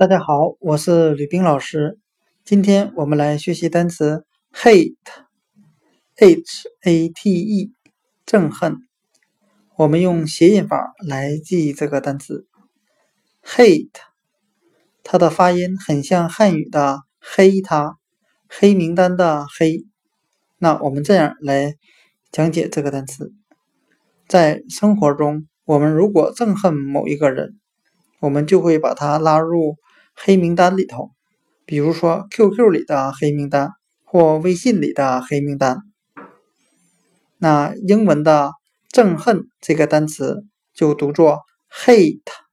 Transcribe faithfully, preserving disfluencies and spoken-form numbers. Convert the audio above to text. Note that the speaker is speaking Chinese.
大家好，我是吕冰老师。今天我们来学习单词 hate H A T E 憎恨。我们用谐音法来记忆这个单词 hate， 它的发音很像汉语的黑它，黑名单的黑。那我们这样来讲解这个单词。在生活中，我们如果憎恨某一个人，我们就会把他拉入黑名单里头，比如说 Q Q 里的黑名单或微信里的黑名单。那英文的憎恨这个单词就读作 hate。